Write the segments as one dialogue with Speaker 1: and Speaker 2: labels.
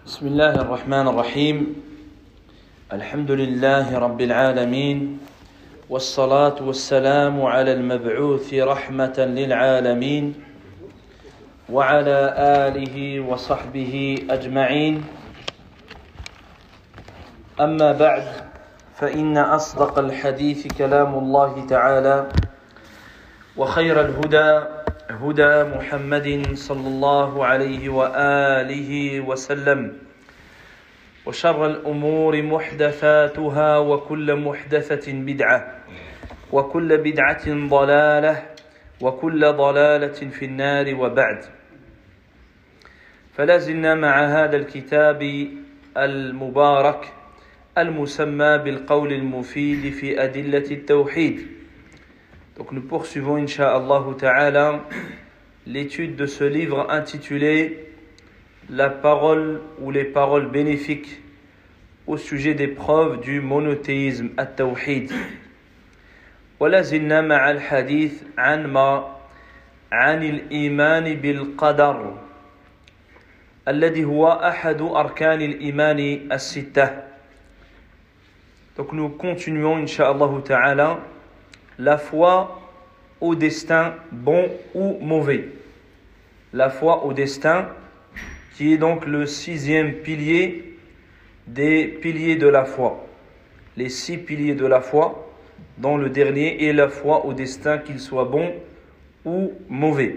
Speaker 1: بسم الله الرحمن الرحيم الحمد لله رب العالمين والصلاة والسلام على المبعوث رحمة للعالمين وعلى آله وصحبه أجمعين أما بعد فإن أصدق الحديث كلام الله تعالى وخير الهدى هدى محمد صلى الله عليه وآله وسلم وشر الأمور محدثاتها وكل محدثة بدعة وكل بدعة ضلالة وكل ضلالة في النار وبعد فلازلنا مع هذا الكتاب المبارك المسمى بالقول المفيد في أدلة التوحيد. Donc nous poursuivons, Inch'Allah Ta'ala, l'étude de ce livre intitulé La parole ou les paroles bénéfiques au sujet des preuves du monothéisme, at-tawhid. ولا زلنا مع الحديث عن الإيمان بالقدر الذي هو أحد أركان الإيمان الستة. Donc nous continuons, Inch'Allah Ta'ala, la foi au destin bon ou mauvais. La foi au destin qui est donc le sixième pilier des piliers de la foi. Les 6 piliers de la foi, dont le dernier est la foi au destin, qu'il soit bon ou mauvais.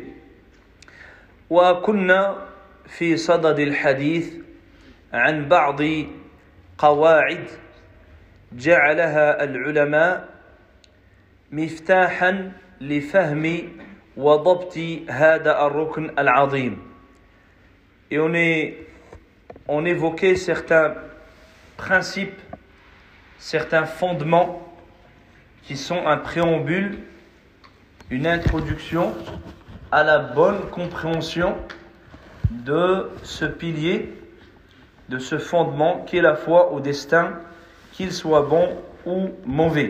Speaker 1: وكنا في صدد الحديث عن بعض قواعد جعلها العلماء مفتاحا لفهم وضبط هذا الركن العظيم. Et on évoquait certains principes, certains fondements qui sont un préambule, une introduction à la bonne compréhension de ce pilier, de ce fondement qui est la foi au destin, qu'il soit bon ou mauvais.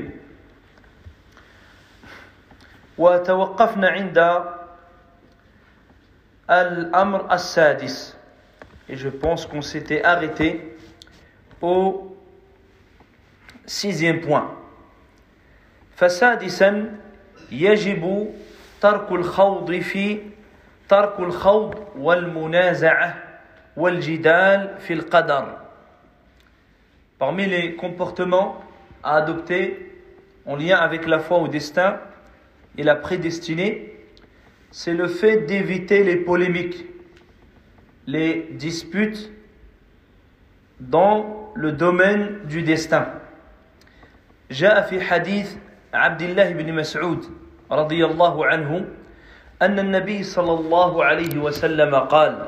Speaker 1: وتوقفنا عند الأمر السادس, et je pense qu'on s'était arrêté au 6e point. فسادسا يجب ترك الخوض والمنازعة والجدال في القدر. Parmi les comportements à adopter en lien avec la foi au destin et la prédestinée, c'est le fait d'éviter les polémiques, les disputes dans le domaine du destin. جاء في حديث عبد الله بن مسعود رضي الله عنه أن النبي صلى الله عليه وسلم قال: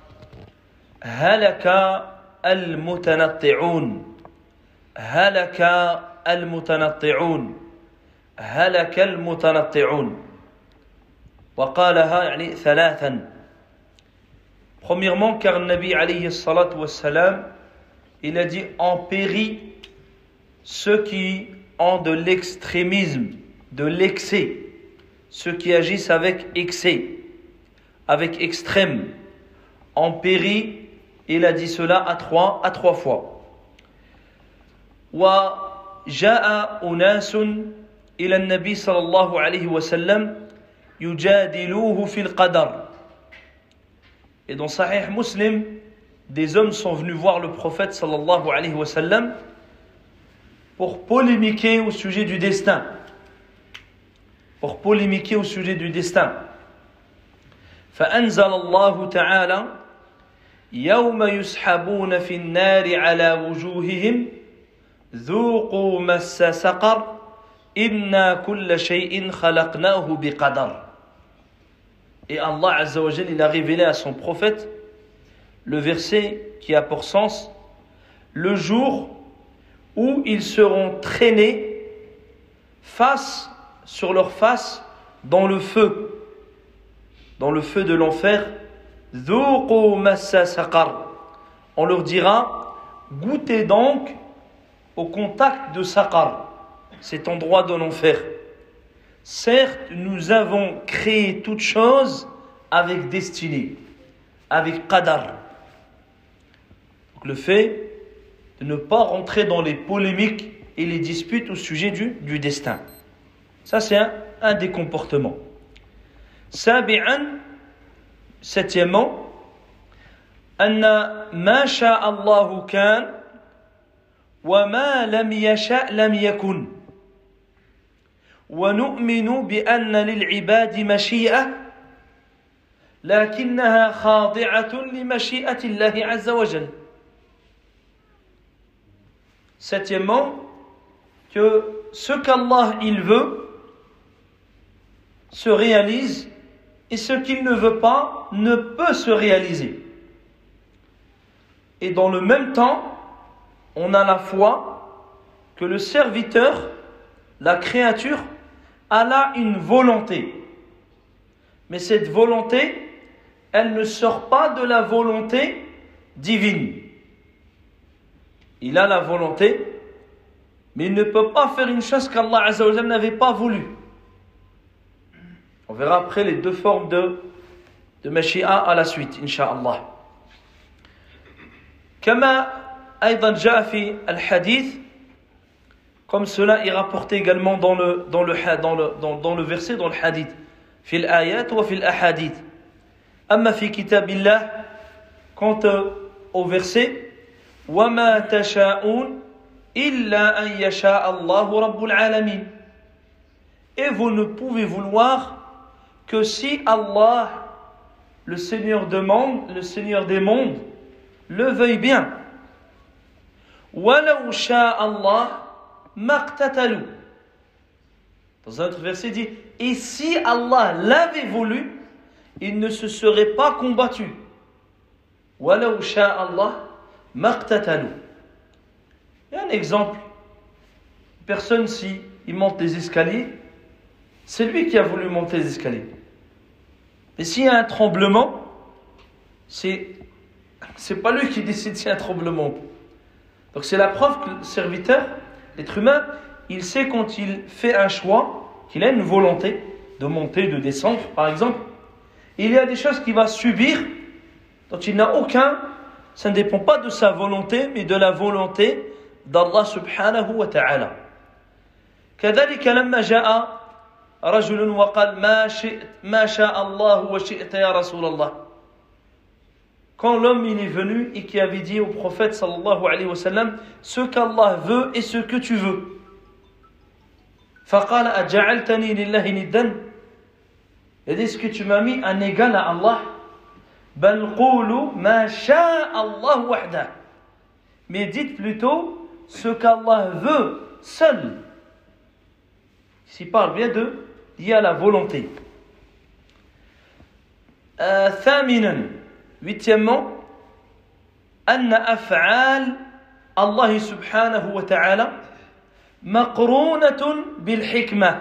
Speaker 1: هلك المتنطعون هلك المتنطعون هلك المتنطعون. وقالها يعني ثلاثا. Premièrement, car le Nabi alayhi salatu wassalam, il a dit: en périt ceux qui ont de l'extrémisme, de l'excès, ceux qui agissent avec excès, avec extrême. En périt, il a dit cela à trois fois. وجاء أناس إلى النبي صلى الله عليه وسلم يجادلوه في القدر. Et dans Sahih Muslim, des hommes sont venus voir le prophète sallallahu alayhi wa sallam pour polémiquer au sujet du destin. Pour polémiquer au sujet du destin. فأنزل الله تعالى: يوم يسحبون في النار على وجوههم ذوقوا مس سقر إنا كل شيء خلقناه بقدر. Et Allah Azza wa Jal, il a révélé à son prophète le verset qui a pour sens: le jour où ils seront traînés sur leur face dans le feu de l'enfer. ذوقوا مس سقر. On leur dira: goûtez donc au contact de Saqar, cet endroit de l'enfer. Certes, nous avons créé toute chose avec destinée, avec qadar. Donc le fait de ne pas rentrer dans les polémiques et les disputes au sujet du destin. Ça c'est un des comportements. Septièmement, anna ma sha'a Allahu kan wa ma lam yasha' lam yakun. ونؤمن بأن للعباد مشيئة لكنها خاضعة لمشيئة الله عز وجل. Septièmement, que ce qu'Allah il veut se réalise et ce qu'il ne veut pas ne peut se réaliser. Et dans le même temps, on a la foi que le serviteur, la créature, elle a une volonté. Mais cette volonté, elle ne sort pas de la volonté divine. Il a la volonté, mais il ne peut pas faire une chose qu'Allah Azza wa Jalla n'avait pas voulu. On verra après les deux formes de mashi'a à la suite, Inch'Allah. كما أيضا جاء في الحديث, comme cela est rapporté également dans le verset, dans le hadith. في الآيات وفي الأحاديث. أما في كتاب الله, quant au verset, وما تشاءون إلا أن يشاء الله رب العالمين. Et vous ne pouvez vouloir que si Allah, le Seigneur des mondes, le veuille bien. وَلَوْ شَاءَ اللَّهُ مَقْتَتَلُوا. Dans un autre verset dit, et si Allah l'avait voulu, il ne se serait pas combattu. وَلَوْ شَاءَ اللَّهُ مَقْتَتَلُوا. Il y a un exemple. Une personne, si il monte des escaliers, c'est lui qui a voulu monter les escaliers. Mais s'il y a un tremblement, c'est pas lui qui décide s'il y a un tremblement. Donc c'est la preuve que le serviteur, l'être humain, il sait quand il fait un choix, qu'il a une volonté de monter, de descendre, par exemple. Il y a des choses qu'il va subir, dont il n'a aucun, ça ne dépend pas de sa volonté, mais de la volonté d'Allah subhanahu wa ta'ala. كذلك لما جاء رجل وقال ما شاء الله وشئت يا رسول الله. Quand l'homme il est venu et qui avait dit au prophète sallallahu alayhi wa sallam, ce qu'Allah veut et ce que tu veux. فقال أجعلتني لله ندا. Il a dit, est-ce que tu m'as mis un égal à Allah? بل قولوا ما شاء الله وحده. Mais dites plutôt ce qu'Allah veut seul. Ici parle bien de lié à la volonté. ثامنا, huitièmement, أن أفعال الله سبحانه وتعالى مقرونة بالحكمة.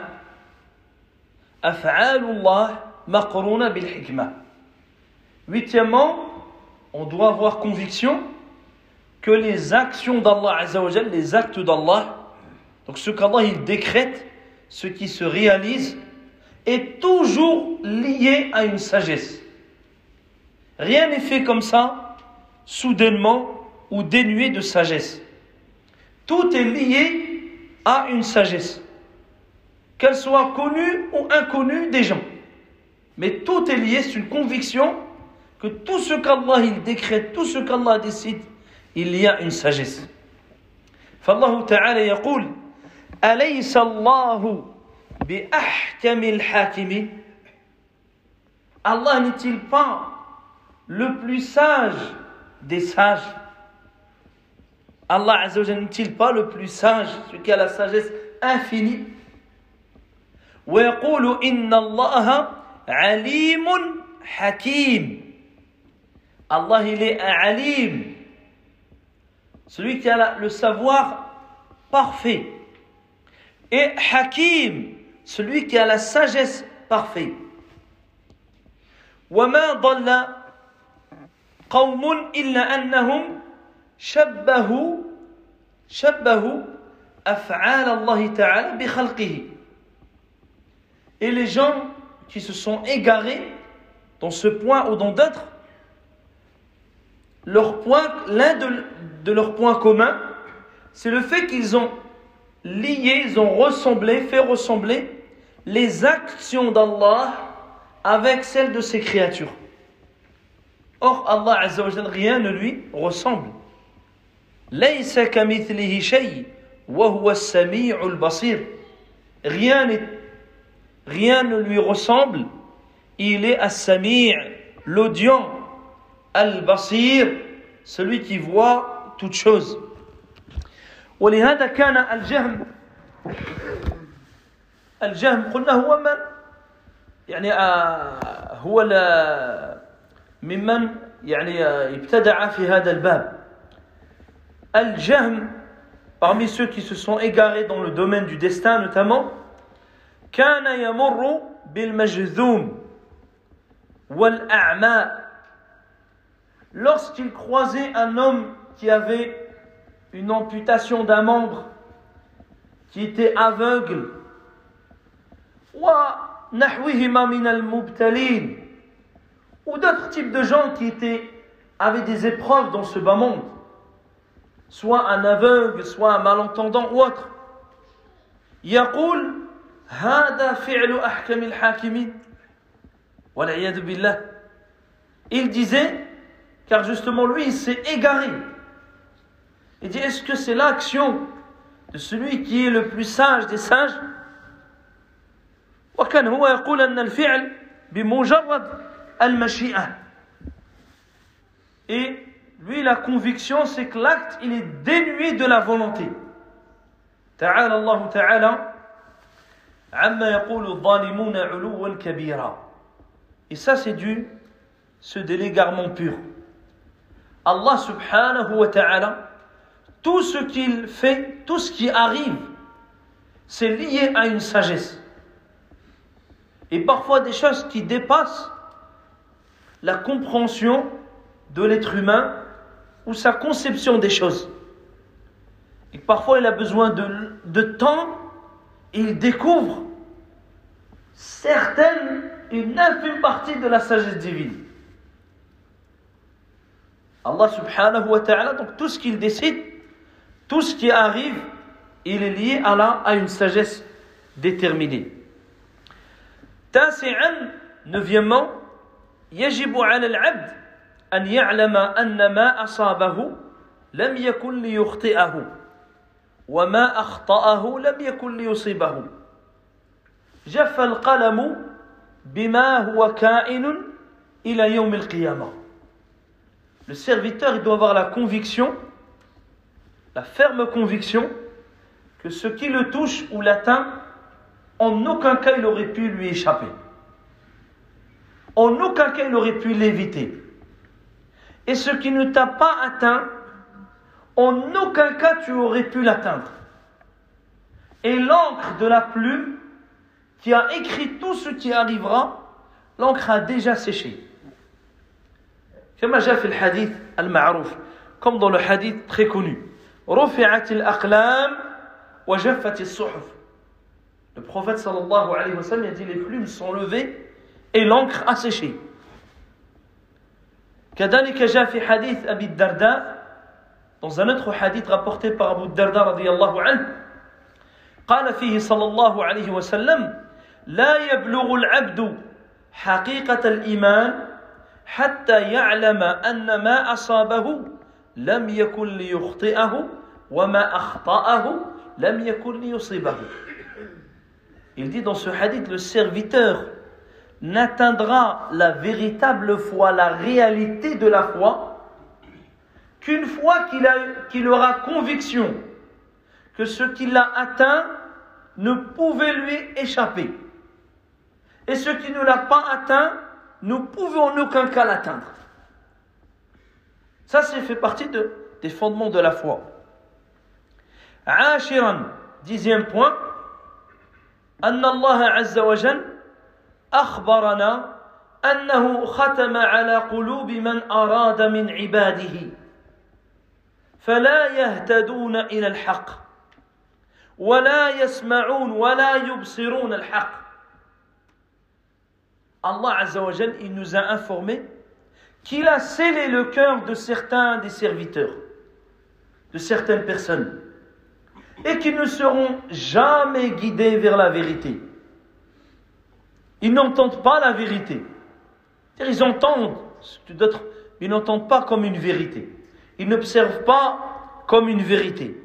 Speaker 1: أفعال الله مقرونة بالحكمة. Huitièmement, on doit avoir conviction que les actions d'Allah Azza wa Jal, les actes d'Allah, donc ce qu'Allah il décrète, ce qui se réalise, est toujours lié à une sagesse. Rien n'est fait comme ça, soudainement ou dénué de sagesse. Tout est lié à une sagesse, qu'elle soit connue ou inconnue des gens. Mais tout est lié, c'est une conviction que tout ce qu'Allah il décrète, tout ce qu'Allah décide, il y a une sagesse. فالله تعالى يقول أليس الله بأحكم الحاكمين. Allah n'est-il pas le plus sage des sages? Allah Azza wa Jalla n'est-il pas le plus sage, celui qui a la sagesse infinie? ويقول إن الله عليم حكيم. Allah il est un alim, celui qui a le savoir parfait, et hakim, celui qui a la sagesse parfaite. وما ضل قوم إلا أنهم شبهوا أفعال الله تعالى بخلقه. Et les gens qui se sont égarés dans ce point ou dans d'autres, l'un de leurs points communs, c'est le fait qu'ils ont lié, ils ont fait ressembler les actions d'Allah avec celles de ses créatures. Or, Allah Azza wa Jalla, rien ne lui ressemble. Laysa kamithlihi shay wa huwa as-sami'ul basir. Rien ne lui ressemble. Il est as-sami', l'audient, al-basir, celui qui voit toutes choses. ولهذا كان الجهم قلنا هو من يعني هو ممن يعني ابتدع في هذا الباب. الجهم, parmi ceux qui se sont égarés dans le domaine du destin notamment, كان يمر بالمجذوم والأعمى. Lorsqu'il croisait un homme qui avait une amputation d'un membre, qui était aveugle, وَنَحْوِهِمَا مِنَ الْمُبْتَلِينَ, ou d'autres types de gens qui avaient des épreuves dans ce bas monde, soit un aveugle, soit un malentendant ou autre. يقول هذا فعل أحكم الحاكمين والعياذ بالله. Il disait, car justement lui il s'est égaré, il dit, est-ce que c'est l'action de celui qui est le plus sage des sages? وكان هو يقول أن الفعل بمجرد المشيئة. Et lui la conviction c'est que l'acte il est dénué de la volonté. تعالى الله تعالى عما يقول الظالمون علوا كبيرا. Et ça c'est de l'égarement pur. Allah subhanahu wa ta'ala, tout ce qu'il fait, tout ce qui arrive, c'est lié à une sagesse. Et parfois des choses qui dépassent la compréhension de l'être humain ou sa conception des choses. Et parfois il a besoin de temps et il découvre une infime partie de la sagesse divine. Allah subhanahu wa ta'ala, donc tout ce qu'il décide, tout ce qui arrive, il est lié à une sagesse déterminée. تاسعا, neuvièmement, يجب على العبد أن يعلم أن ما أصابه لم يكن ليخطئه وما أخطأه لم يكن ليصيبه. جف القلم بما هو كائن إلى يوم القيامة. Le serviteur il doit avoir la conviction, la ferme conviction que ce qui le touche ou l'atteint, en aucun cas il aurait pu lui échapper. En aucun cas il aurait pu l'éviter. Et ce qui ne t'a pas atteint, en aucun cas tu aurais pu l'atteindre. Et l'encre de la plume qui a écrit tout ce qui arrivera, l'encre a déjà séché. كما جاء في الحديث المعروف, comme dans le hadith très connu, رفعت الأقلام وجفت الصحف. Le prophète sallallahu alayhi wa sallam a dit, les plumes sont levées et l'encre a séché. كذلك جاء في حديث أبي الدرداء, dans un autre hadith rapporté par Abu Darda رضي الله عنه, قال فيه صلى الله عليه وسلم لا يبلغ العبد حقيقة الإيمان حتى يعلم أن ما أصابه لم يكن ليخطئه وما أخطأه لم يكن ليصيبه. Il dit dans ce hadith, le serviteur n'atteindra la véritable foi, la réalité de la foi, qu'une fois qu'il aura conviction que ce qu'il a atteint ne pouvait lui échapper. Et ce qui ne l'a pas atteint ne pouvait en aucun cas l'atteindre. Ça, c'est fait partie des fondements de la foi. عاشرا, 10e point, أن الله عز وجل أخبرنا أنه ختم على قلوب من أراد من عباده فلا يهتدون إلى الحق ولا يسمعون ولا يبصرون الحق. Allah Azza wa Jal, il nous a informé qu'il a scellé le cœur de certains des serviteurs, de certaines personnes, et qu'ils ne seront jamais guidés vers la vérité. Ils n'entendent pas la vérité. C'est-à-dire, ils entendent d'autres, mais ils n'entendent pas comme une vérité. Ils n'observent pas comme une vérité.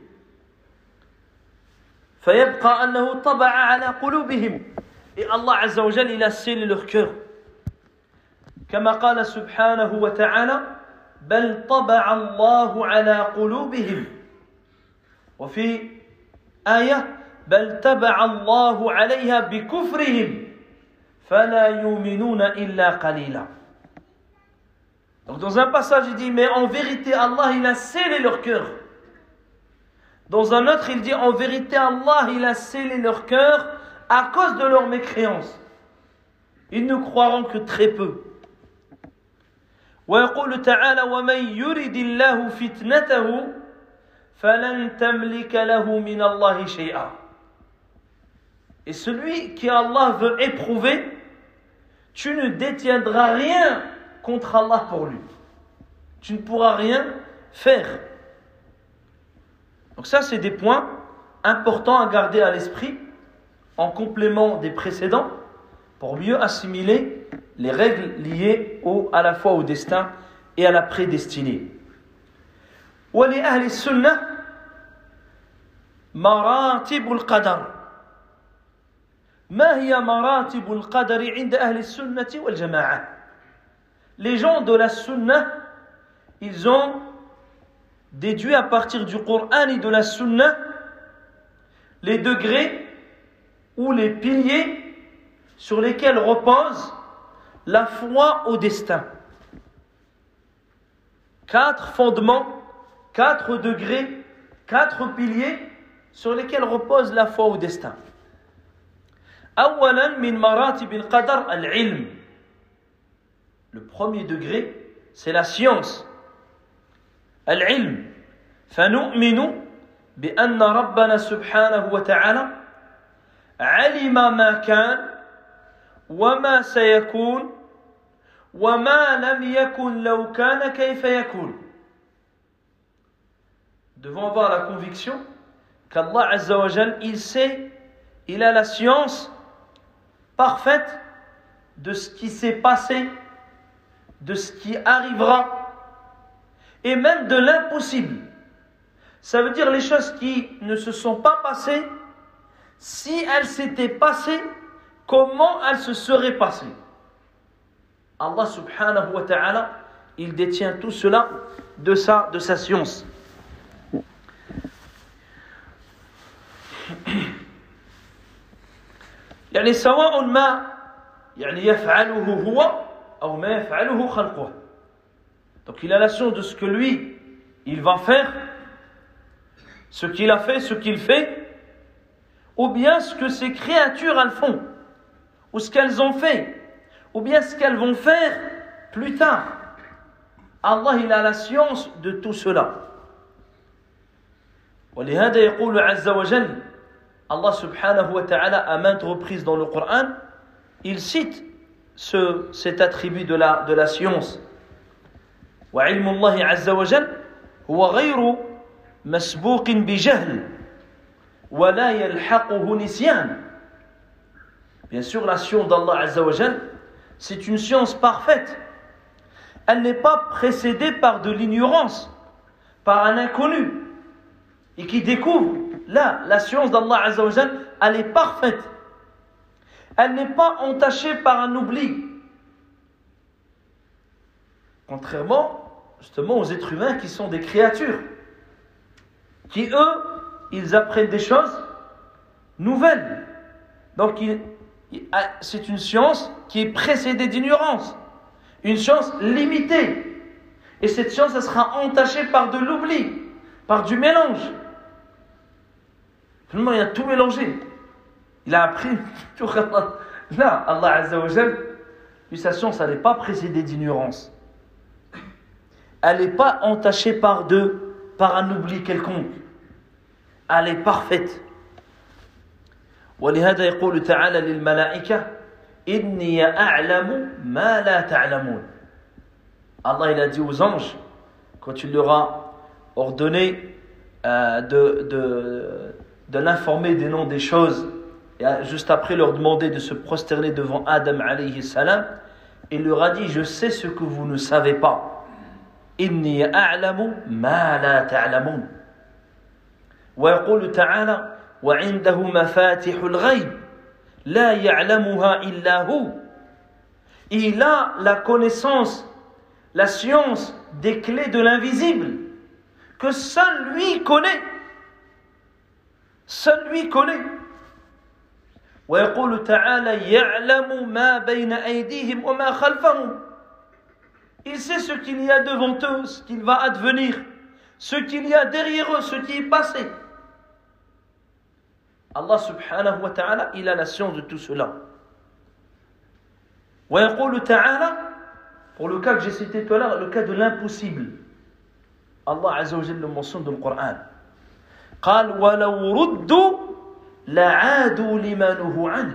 Speaker 1: فيبقى أنه طبع على قلوبهم. Et Allah Azza wa Jalla, il a scellé leur cœur. كما قال سبحانه وتعالى بل طبع الله على قلوبهم. وفي آية بل تبع الله عليها بكفرهم فلا يؤمنون إلا قليلا. Donc dans un passage il dit mais en vérité Allah il a scellé leur cœur. Dans un autre il dit en vérité Allah il a scellé leur cœur à cause de leur mécréance. Ils ne croiront que très peu. ويقول تعالى ومن يرد الله فتنته فلن تملك له من الله شيئا. Et celui qui Allah veut éprouver, tu ne détiendras rien contre Allah pour lui. Tu ne pourras rien faire. Donc ça, c'est des points importants à garder à l'esprit en complément des précédents pour mieux assimiler les règles liées à la fois au destin et à la prédestinée. ولأهل السنة مراتب القدر. ما هي مراتب القدر عند أهل السنة والجماعة؟ Les gens de la sunna, ils ont déduit à partir du Coran et de la sunna les degrés ou les piliers sur lesquels repose la foi au destin. 4 fondements, 4 degrés, 4 piliers sur lesquels repose la foi au destin. أولاً من مراتب القدر العلم. Le premier degré, c'est la science. العلم. فنؤمن بأن ربنا سبحانه وتعالى علم ما كان وما سيكون وما لم يكن لو كان كيف يكون. Devons avoir la conviction qu'Allah Azza wa Jal, il sait, il a la science parfaite de ce qui s'est passé, de ce qui arrivera, et même de l'impossible. Ça veut dire les choses qui ne se sont pas passées, si elles s'étaient passées, comment elles se seraient passées. Allah subhanahu wa ta'ala, il détient tout cela de sa science. يعني سواء ما يعني يفعله هو أو ما يفعله خلقه. Donc il a la science de ce que lui il va faire, ce qu'il a fait, ce qu'il fait, ou bien ce que ses créatures elles font, ou ce qu'elles ont fait, ou bien ce qu'elles vont faire plus tard. Allah il a la science de tout cela. ولهذا يقول عز وجل Allah subhanahu wa ta'ala à maintes reprises dans le Coran, il cite cet attribut de la science. وعلم الله عز وجل هو غير مسبوق بجهل ولا يلحقه نسيان. Bien sûr, la science d'Allah Azza wa Jal, c'est une science parfaite. Elle n'est pas précédée par de l'ignorance, par un inconnu, et qui découvre. Là, la science d'Allah Azza wa Jal, elle est parfaite. Elle n'est pas entachée par un oubli. Contrairement, justement, aux êtres humains qui sont des créatures, qui, eux, ils apprennent des choses nouvelles. Donc, c'est une science qui est précédée d'ignorance. Une science limitée. Et cette science, elle sera entachée par de l'oubli, par du mélange. Finalement, il a tout mélangé. Il a appris tout. Là, Allah Azza wa Jal, lui, sa science, elle n'est pas précédée d'ignorance. Elle n'est pas entachée par un oubli quelconque. Elle est parfaite. ولهذا يقول تعالى للملائكة إني أعلم ما لا تعلمون. Allah il a dit aux anges, quand il leur a ordonné de l'informer des noms des choses, et juste après leur demander de se prosterner devant Adam alayhi salam, il leur a dit, je sais ce que vous ne savez pas. Inni a'lamu ma la ta'lamun. Wa yaqulu ta'ala, wa 'indahu mafatihul ghayb la ya'lamuha illa hu. Il a la connaissance, la science des clés de l'invisible que seul lui connaît. Seul lui connaît. ويقول تعالى يعلم ما بين أيديهم وما خلفهم. Il sait ce qu'il y a devant eux, ce qu'il va advenir, ce qu'il y a derrière eux, ce qui est passé. Allah subhanahu wa ta'ala, il a la science de tout cela. ويقول تعالى, pour le cas que j'ai cité tout à l'heure, le cas de l'impossible, Allah azza wa jalla le mentionne dans le Coran. قال ولو ردوا لعادوا لما نهوا عنه.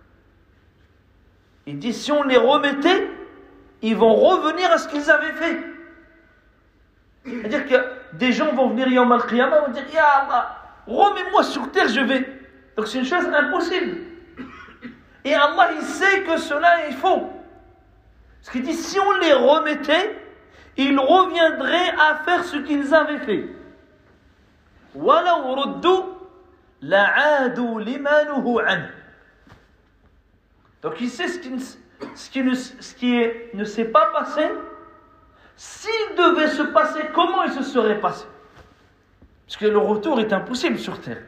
Speaker 1: Il dit si on les remettait, ils vont revenir à ce qu'ils avaient fait. C'est-à-dire que des gens vont venir Yawm al-Qiyamah et vont dire Ya Allah, remets-moi sur terre, je vais. Donc c'est une chose impossible. Et Allah il sait que cela est faux. Parce qu'il dit si on les remettait, ils reviendraient à faire ce qu'ils avaient fait. وَلَوْ رُدُّوا لَعَادُوا لِمَا نُهُوا عَنْهُ. Donc il sait ce qui ne s'est pas passé. S'il devait se passer, comment il se serait passé? Parce que le retour est impossible sur terre.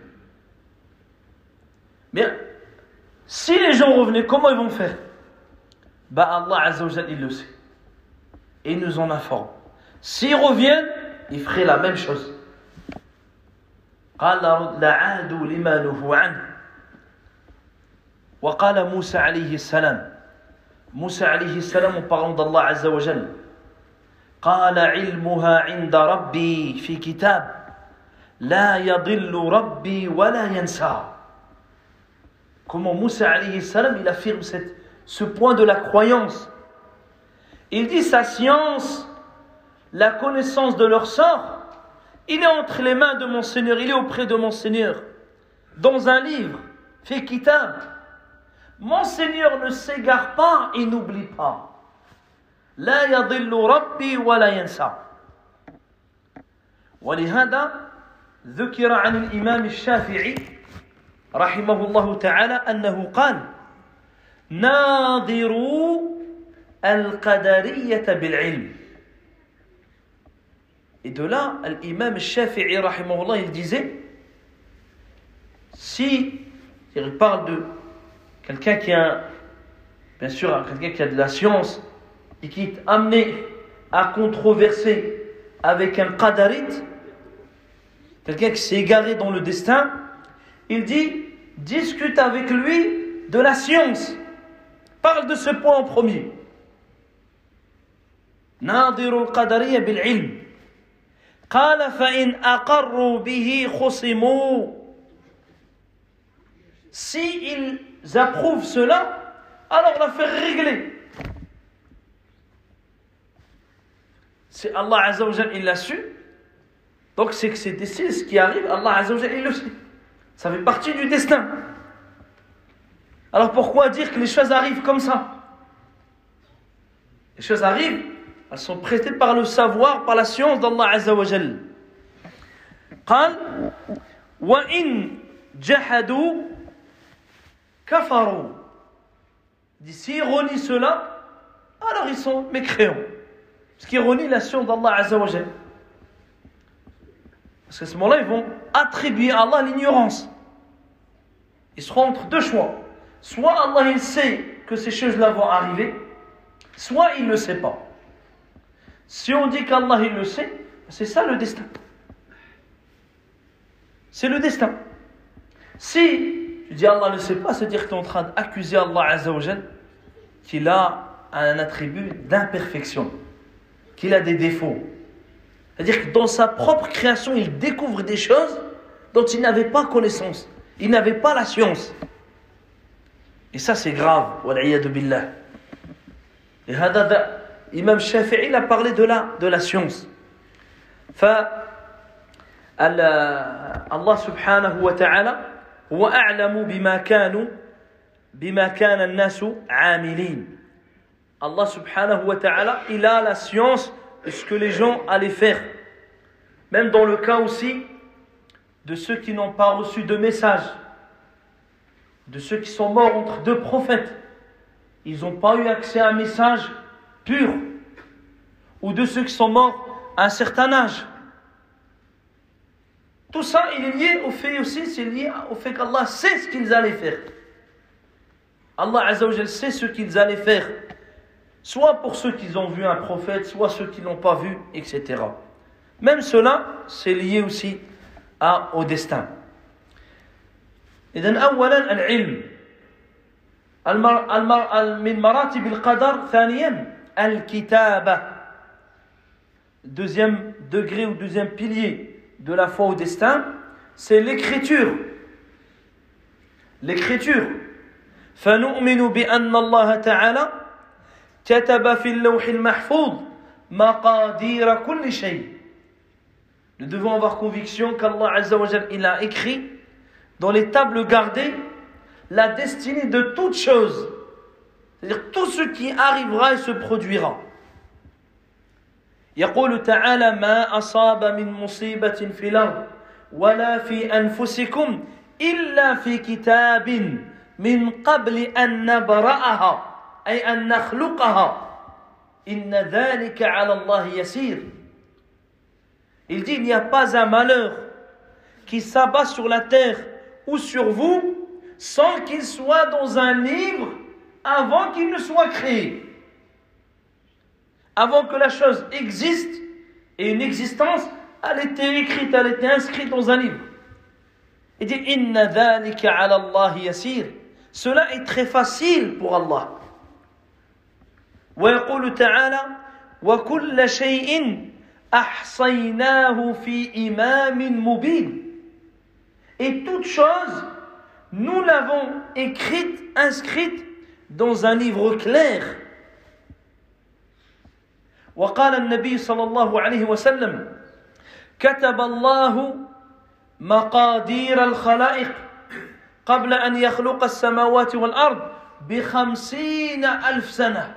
Speaker 1: Mais si les gens revenaient, comment ils vont faire? Allah Azza wa Jalla, il le sait. Et il nous en informe. S'ils reviennent, ils feraient la même chose. قال لعادوا لما نهوا عنه. وقال موسى عليه السلام, موسى عليه السلام en parlant d'Allah Azza wa Jalla, قال علمها عند ربي في كتاب لا يضل ربي ولا ينسى. Comment Moussa alayhi salam il affirme ce point de la croyance. Il dit sa science, la connaissance de leur sort, il est entre les mains de mon Seigneur, il est auprès de mon Seigneur, dans un livre, fi kitab. Mon Seigneur ne s'égare pas et n'oublie pas. لا يضل ربي ولا ينسى. ولهذا ذكر عن الإمام الشافعي رحمه الله تعالى أنه قال ناظروا القدرية بالعلم. Et de là, l'imam Shafi'i rahimahullah, il disait, si il parle de quelqu'un qui a, bien sûr, quelqu'un qui a de la science et qui est amené à controverser avec un qadarite, quelqu'un qui s'est égaré dans le destin, il dit, discute avec lui de la science. Parle de ce point en premier. ناظر القدرية بالعلم. قال فإن أقروا به خصموا. Si ils approuvent cela, alors l'affaire est réglée. C'est Allah Azza wa Jalla, il l'a su. Donc c'est que c'est ce qui arrive, Allah Azza wa Jalla, il le sait. Ça fait partie du destin. Alors pourquoi dire que les choses arrivent comme ça? Les choses arrivent, elles sont prêtées par le savoir, par la science d'Allah Azza wa Jalla. قال وإن جحدوا كفروا. S'ils renient cela, alors ils sont mécréants. Parce qu'ils renient la science d'Allah Azza wa Jalla. Parce qu'à ce moment-là, ils vont attribuer à Allah l'ignorance. Ils seront entre deux choix. Soit Allah il sait que ces choses-là vont arriver, soit il ne le sait pas. Si on dit qu'Allah il le sait, c'est ça le destin. C'est le destin. Si tu dis Allah ne le sait pas, c'est-à-dire que tu es en train d'accuser Allah Azza wa Jalla qu'il a un attribut d'imperfection, qu'il a des défauts. C'est-à-dire que dans sa propre création, il découvre des choses dont il n'avait pas connaissance. Il n'avait pas la science. Et ça, c'est grave. Wal'iyadu billah. Imam Shafi'i il a parlé de la science. Allah subhanahu wa ta'ala هو أعلم بما كان الناس عاملين. Allah subhanahu wa ta'ala il a la science de ce que les gens allaient faire. Même dans le cas aussi de ceux qui n'ont pas reçu de message, de ceux qui sont morts entre deux prophètes, ils n'ont pas eu accès à un message pur, ou de ceux qui sont morts à un certain âge. Tout ça, il est lié au fait aussi, c'est lié au fait qu'Allah sait ce qu'ils allaient faire. Allah Azza wa Jal sait ce qu'ils allaient faire, soit pour ceux qui ont vu un prophète, soit ceux qui ne l'ont pas vu, etc. Même cela, c'est lié aussi au destin. إذن أولا العلم من مراتب القدر. ثانيا الكتابة. Deuxième degré ou deuxième pilier de la foi au destin, c'est l'écriture. L'écriture. فنؤمن بأن الله تعالى كتب في اللوح المحفوظ مقادير كل شيء. Nous devons avoir conviction qu'Allah Azza wa Jal, il a écrit dans les tables gardées la destinée de toute chose, c'est-à-dire tout ce qui arrivera et se produira. يقول تعالى ما أصاب من مصيبة في الأرض ولا في أنفسكم إلا في كتاب من قبل أن نبرأها أي أن نخلقها إن ذلك على الله يسير. Il dit il n'y a pas un malheur qui s'abat sur la terre ou sur vous sans qu'il soit dans un livre avant qu'il ne soit créé. Avant que la chose existe, et une existence, elle était écrite, elle était inscrite dans un livre. Il dit inna dhalika ala Allah yasir. Cela est très facile pour Allah. Wa yaqulu ta'ala wa kulla shay'in ahsaynahu fi imamin mubin. Et toute chose, nous l'avons écrite, inscrite dans un livre clair. وقال النبي صلى الله عليه وسلم كتب الله مقادير الخلائق قبل أن يخلق السماوات والأرض ب50,000 سنة.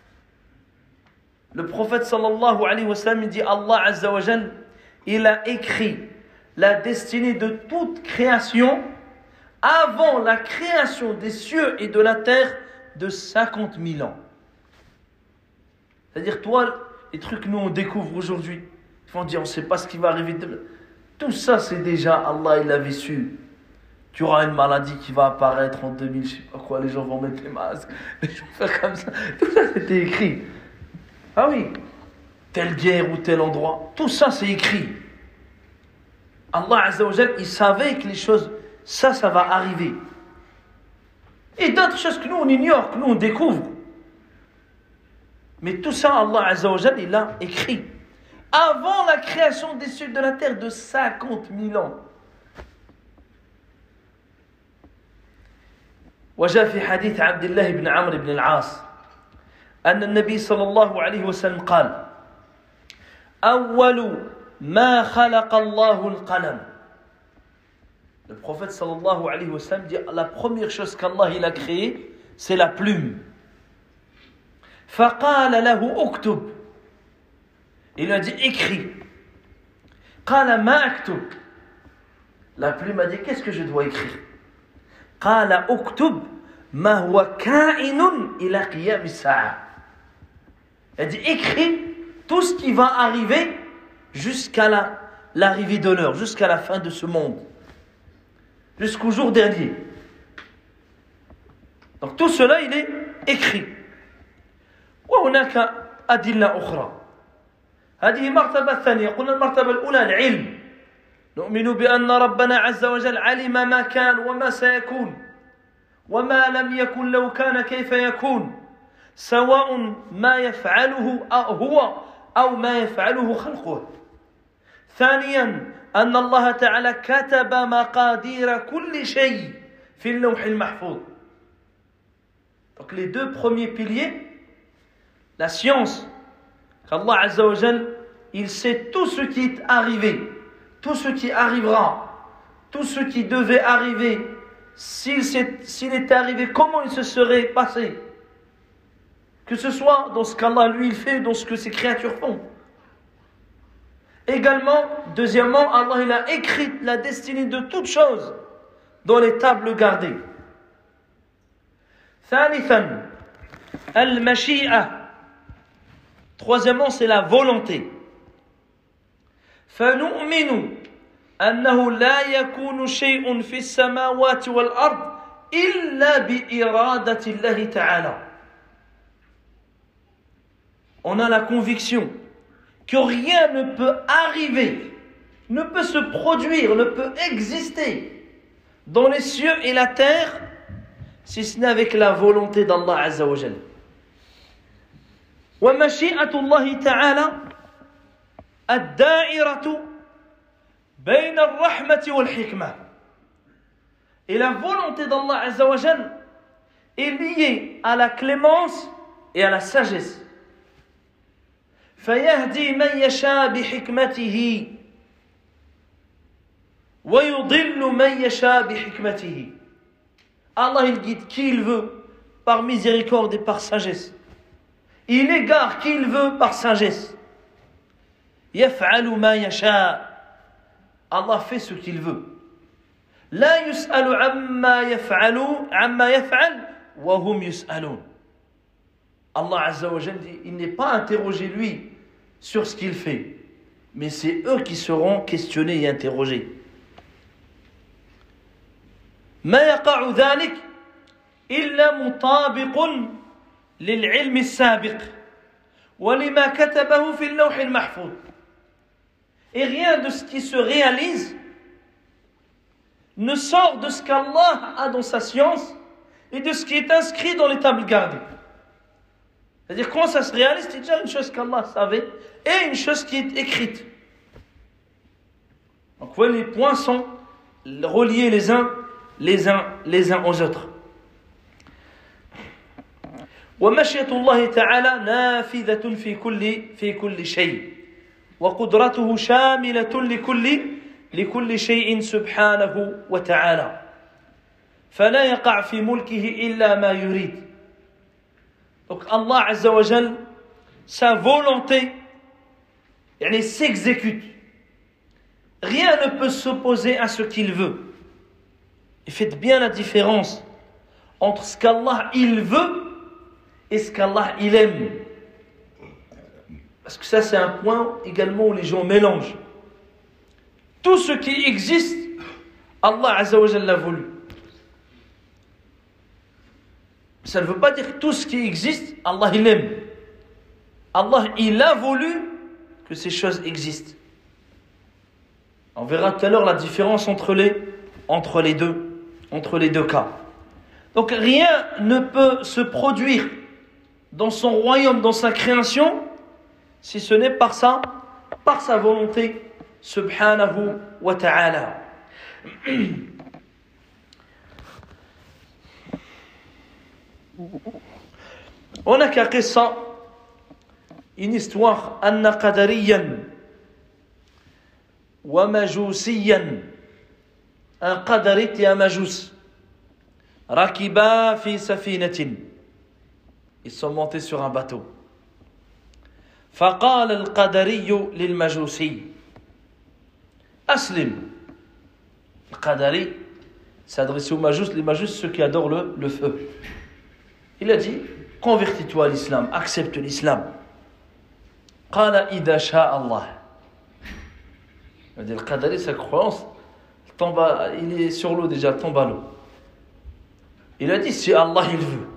Speaker 1: Le prophète sallallahu alayhi wa sallam dit Allah Azza wa Jal, il a écrit la destinée de toute création avant la création des cieux et de la terre de 50,000 ans. C'est-à-dire, toi, les trucs que nous on découvre aujourd'hui, ils vont dire on ne sait pas ce qui va arriver demain. Tout ça, c'est déjà Allah, il l'avait su. Tu auras une maladie qui va apparaître en 2000, je ne sais pas quoi, les gens vont mettre les masques, les gens vont faire comme ça. Tout ça, c'était écrit. Ah oui, telle guerre ou tel endroit, tout ça, c'est écrit. Allah Azza wa Jal, il savait que les choses, ça va arriver. Et d'autres choses que nous, on ignore, que nous, on découvre. Mais tout ça, Allah Azza wa Jal, il l'a écrit. Avant la création des cieux et de la terre de 50,000 ans. وجاء في حديث عبد الله بن عمرو بن العاص أن النبي صلى الله عليه وسلم قال أول ما خلق الله القلم. Le prophète sallallahu alayhi wa sallam dit la première chose qu'Allah il a créée, c'est la plume. فقال له اكتب. Il a dit écris. قال ما أكتب. La plume a dit qu'est-ce que je dois écrire? قال اكتب ما هو كائن إلى قيام الساعة. Elle dit écris tout ce qui va arriver jusqu'à l'arrivée de l'heure, jusqu'à la fin de ce monde, jusqu'au jour dernier. Donc tout cela il est écrit. وهناك أدلة أخرى. هذه مرتبة ثانية. قلنا المرتبة الأولى العلم. نؤمن بأن ربنا عز وجل علم ما كان وما سيكون وما لم يكن لو كان كيف يكون سواء ما يفعله هو أو ما يفعله خلقه. ثانيا أن الله تعالى كتب مقادير كل شيء في اللوح المحفوظ. Donc les deux premiers piliers, la science qu'Allah Azza wa Jal, il sait tout ce qui est arrivé, tout ce qui arrivera, tout ce qui devait arriver, s'il était arrivé, comment il se serait passé. Que ce soit dans ce qu'Allah lui il fait, dans ce que ses créatures font. Également, deuxièmement, Allah il a écrit la destinée de toutes choses dans les tables gardées. ثالثا المشيئة. Troisièmement, c'est la volonté. فنؤمن أنه لا يكون شيء في السماوات والأرض إلا بإرادة الله تعالى. On a la conviction que rien ne peut arriver, ne peut se produire, ne peut exister dans les cieux et la terre si ce n'est avec la volonté d'Allah Azza wa Jal. ومشيئة الله تعالى الدائرة بين الرحمة والحكمة. Et la volonté d'Allah Azza wa Jal est liée à la clémence et à la sagesse. فيهدي من يشاء بحكمته ويضل من يشاء بحكمته. Allah il guide qui il veut par miséricorde et par sagesse. Il égare qui il veut par sagesse. يفعل ما يشاء. Allah fait ce qu'il veut. لا يسأل عما يفعل وهم يسألون. Allah Azza wa Jal dit, il n'est pas interrogé lui sur ce qu'il fait, mais c'est eux qui seront questionnés et interrogés. ما يقع ذلك إلا مطابق للعلم السابق ولما كتبه في اللوح المحفوظ. Et rien de ce qui se réalise ne sort de ce qu'Allah a dans sa science et de ce qui est inscrit dans les tables gardées. C'est-à-dire, quand ça se réalise, c'est déjà une chose qu'Allah savait et une chose qui est écrite. Donc, vous voyez, les points sont reliés les uns aux autres. ومشيئة الله تعالى نافذة في كل شيء وقدرته شاملة لكل شيء سبحانه وتعالى فلا يقع في ملكه إلا ما يريد. Donc Allah Azza wa Jal, sa volonté s'exécute. Rien ne peut s'opposer à ce qu'il veut. Et faites bien la différence entre ce qu'Allah il veut et ce qu'Allah il aime. Parce que ça c'est un point également où les gens mélangent. Tout ce qui existe, Allah Azza wa Jal l'a voulu. Ça ne veut pas dire que tout ce qui existe, Allah il aime. Allah il a voulu que ces choses existent. On verra tout à l'heure la différence entre les deux cas. Donc rien ne peut se produire dans son royaume, dans sa création, si ce n'est par sa volonté, subhanahu wa ta'ala. هناك قصة une histoire أن قدريا ومجوسيا un قدريت et un مجوس ركبا في سفينة. Ils sont montés sur un bateau. فقال القدري للمجوسي أسلم. Le qadari s'adressait aux majous, les majous ceux qui adorent le feu. Il a dit, convertis-toi à l'islam, accepte l'islam. Qala idha sha'a Allah. Il a dit, le qadari, sa croyance, il est sur l'eau déjà, tombe à l'eau. Il a dit, si Allah il veut.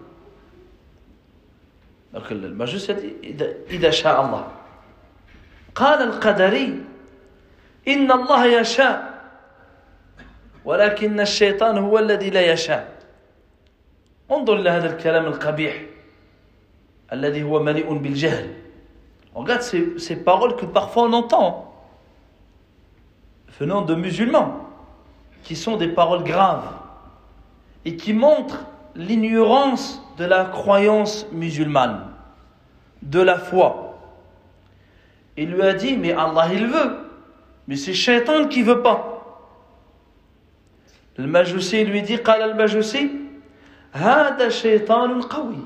Speaker 1: Donc le majus a dit, idha sha'a Allah. Qala al-qadari, inna Allah yasha, ولكن الشيطان هو الذي لا يشاء. انظر إلى هذا الكلام القبيح الذي هو مليء بالجهل. Regarde ces paroles que parfois on entend venant de musulmans qui sont des paroles graves et qui montrent l'ignorance de la croyance musulmane, de la foi. Il lui a dit, mais Allah il veut. Mais c'est Shaitan qui veut pas. Le Majusi lui dit, قال المجوسي هذا شيطان قوي.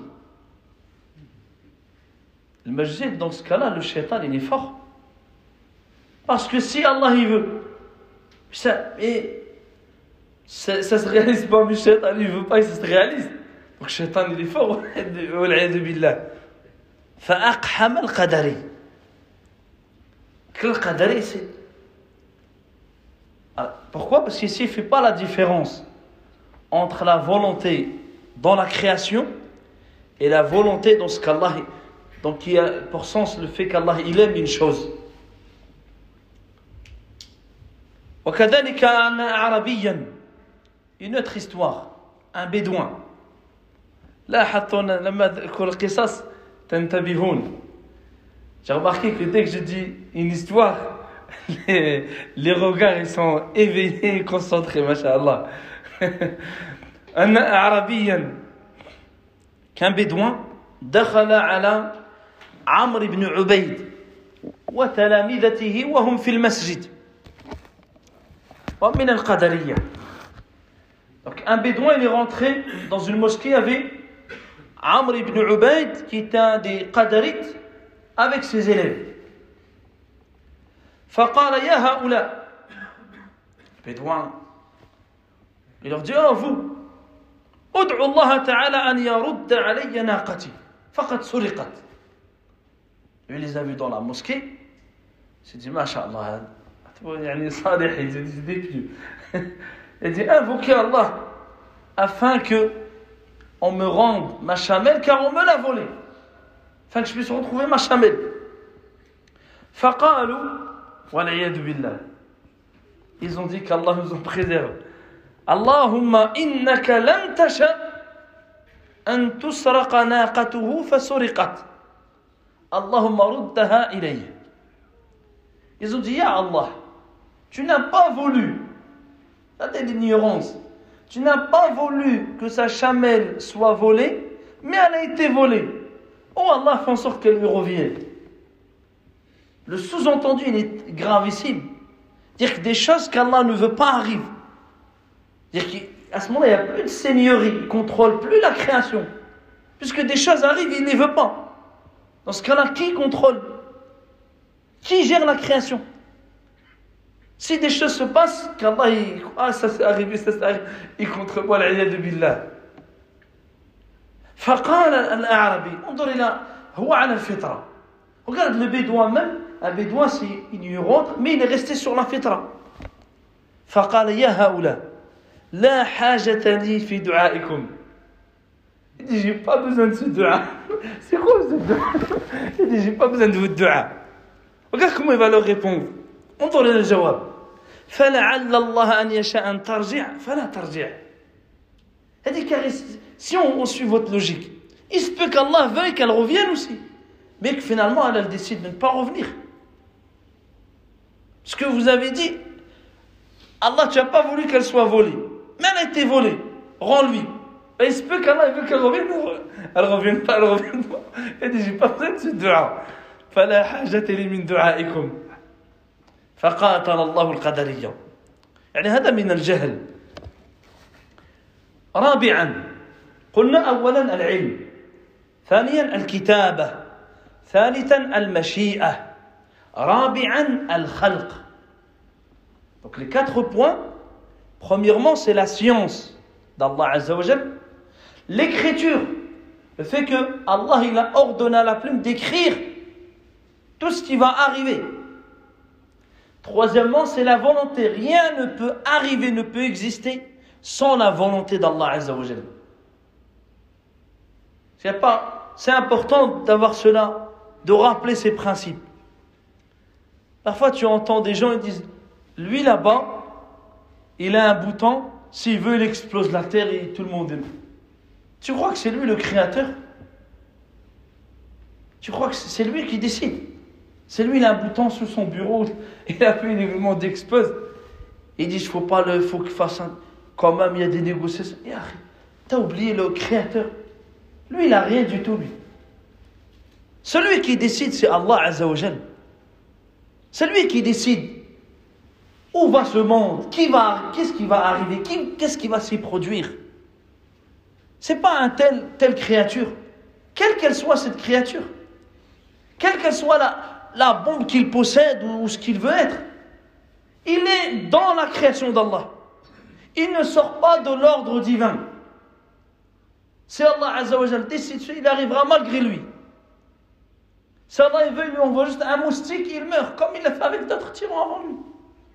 Speaker 1: Le Majusi, dans ce cas-là, le Shaitan il est fort. Parce que si Allah il veut, ça se réalise pas, mais Shaitan il veut pas, et ça se réalise. Donc Shaitan il est fort. والعياذ بالله. فأقحم القدري. Que le Qadari, c'est... Pourquoi? Parce qu'ici, il ne fait pas la différence entre la volonté dans la création et la volonté dans ce qu'Allah... Donc, il y a pour sens le fait qu'Allah, il aime une chose. وكذلك أن أعرابيا, une autre histoire, un bédouin. Là, لما أذكر القصص تنتبهون. J'ai remarqué que dès que je dis une histoire, les regards ils sont éveillés et concentrés, masha'Allah. أن أعرابيا, qu'un bédouin دخل على عمرو بن عبيد وتلامذته وهم في المسجد ومن القدرية. Donc un bédouin il est rentré dans une mosquée avec Amr ibn Ubayd qui est un des qadarites avec ses élèves. فقال يا هؤلاء, bédouin il leur dit, oh vous, ادعوا الله تعالى أن يرد علي ناقتي فقد سرقت. Lui il les a vus dans la mosquée, il s'est dit masha'Allah, يعني صالح, il s'est dit pieux. Il dit invoquez Allah afin que on me rende ma chamelle car on me l'a volée, afin que je puisse retrouver ma chamelle. فقالوا والعياذ بالله, ils ont dit qu'Allah nous en préserve. Allahumma innaka lam tasha an tusraqa naqatuhu fasuriqat. Allahumma ruddaha ilayhi. Ils ont dit, ya Allah, tu n'as pas voulu, ça c'est l'ignorance, tu n'as pas voulu que sa chamelle soit volée, mais elle a été volée. Oh Allah, fais en sorte qu'elle lui revienne. Le sous-entendu, il est gravissime. Dire que des choses qu'Allah ne veut pas arrivent. Dire qu'à ce moment-là, il n'y a plus de seigneurie, il ne contrôle plus la création. Puisque des choses arrivent, il ne les veut pas. Dans ce cas-là, qui contrôle? Qui gère la création? Si des choses se passent, qu'Allah, ça s'est arrivé, il contrôle pas l'iyad billah. فقال الأعرابي, انظر إلى هو على الفطرة. Regarde le bédouin même, un bédouin c'est ignorant, mais il est resté sur la fitra. فقال يا هؤلاء لا حاجة لي في دعائكم. Il dit j'ai pas besoin de ce dua. C'est quoi ce dua? Il dit j'ai pas besoin de votre dua. Regarde comment il va leur répondre. انظر إلى الجواب. فلعل الله أن يشاء أن ترجع فلا ترجع. Il dit car si on suit votre logique, il se peut qu'Allah veuille qu'elle revienne aussi. Mais que finalement, elle décide de ne pas revenir. Ce que vous avez dit, Allah, tu n'as pas voulu qu'elle soit volée. Mais elle a été volée. Rends-lui. Et il se peut qu'Allah veut qu'elle revienne. Elle ne revienne pas, elle ne revienne pas. Il dit, j'ai pas besoin de ce dua. فَلَا حَاجَةَ لِي مِنْ دُعَائِكُمْ فَقَاتَلَ اللَّهُ الْقَدَرِيَّةَ. يعني هذا من الجهل. رابعا قلنا أولا العلم, ثانيا الكتابة, ثالثا المشيئة, رابعا الخلق. Donc les 4 points, premièrement c'est la science d'Allah Azza wa Jal, l'écriture, le fait que Allah il a ordonné à la plume d'écrire tout ce qui va arriver. Troisièmement c'est la volonté, rien ne peut arriver, ne peut exister sans la volonté d'Allah Azza wa Jal. C'est important d'avoir cela, de rappeler ces principes. Parfois tu entends des gens, ils disent, lui là-bas, il a un bouton, s'il veut il explose la terre et tout le monde aime. Tu crois que c'est lui le créateur? Tu crois que c'est lui qui décide? C'est lui, il a un bouton sous son bureau, il a fait une événement d'explose. Il dit, faut qu'il fasse un... Quand même, il y a des négociations. T'as oublié le créateur. Lui, il n'a rien du tout, lui. Celui qui décide, c'est Allah Azza wa Jal.
Speaker 2: C'est lui qui décide où va ce monde, qu'est-ce qui va arriver, qu'est-ce qui va s'y produire. C'est pas un telle créature, quelle qu'elle soit cette créature, quelle qu'elle soit la bombe qu'il possède ou ce qu'il veut être. Il est dans la création d'Allah. Il ne sort pas de l'ordre divin. Si Allah Azza wa Jal décide, il arrivera malgré lui. Si Allah veut, il lui envoie juste un moustique, il meurt, comme il l'a fait avec d'autres tyrans avant lui.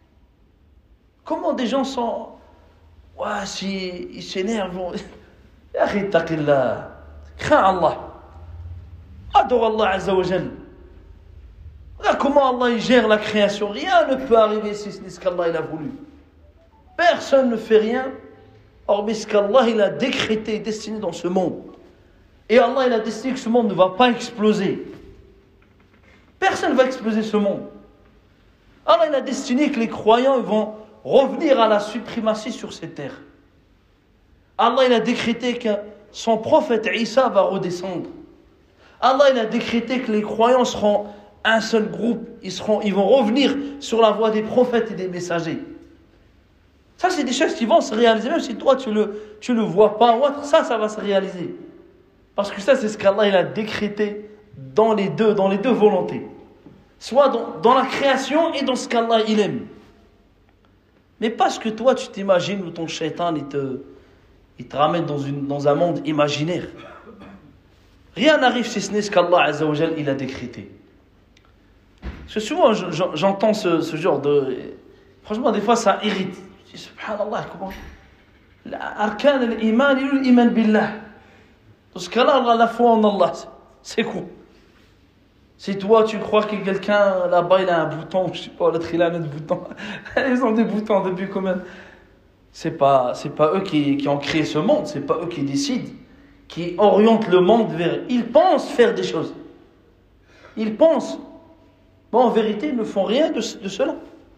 Speaker 2: Comment des gens sont... Ouais, si ils s'énervent... Arrête, taqillah. Crains Allah. Adore Allah Azza wa Jal. Regarde comment Allah il gère la création. Rien ne peut arriver si ce n'est ce qu'Allah il a voulu. Personne ne fait rien, hormis ce qu'Allah il a décrété et destiné dans ce monde. Et Allah il a décidé que ce monde ne va pas exploser. Personne ne va exploser ce monde. Allah il a destiné que les croyants vont revenir à la suprématie sur cette terre. Allah il a décrété que son prophète Isa va redescendre. Allah il a décrété que les croyants seront un seul groupe. Ils vont revenir sur la voie des prophètes et des messagers. Ça, c'est des choses qui vont se réaliser, même si toi, tu le vois pas ou autre, ça va se réaliser. Parce que ça, c'est ce qu'Allah il a décrété dans les deux volontés. Soit dans la création et dans ce qu'Allah il aime. Mais pas ce que toi, tu t'imagines ou ton shaitan, il te ramène dans un monde imaginaire. Rien n'arrive si ce n'est ce qu'Allah Azza wa Jal, il a décrété. Parce que souvent, j'entends ce genre de... Franchement, des fois, ça irrite. Je dis, subhanallah, comment... Arkan al-iman, l'iman billah. Dans ce cas-là, la foi en Allah, c'est quoi? Si toi, tu crois que quelqu'un, là-bas, il a un bouton, je sais pas, l'autre, il a un autre bouton. Ils ont des boutons depuis combien? C'est pas eux qui ont créé ce monde, c'est pas eux qui décident, qui orientent le monde vers... Ils pensent faire des choses. Ils pensent. Bon, en vérité, ils ne font rien de cela.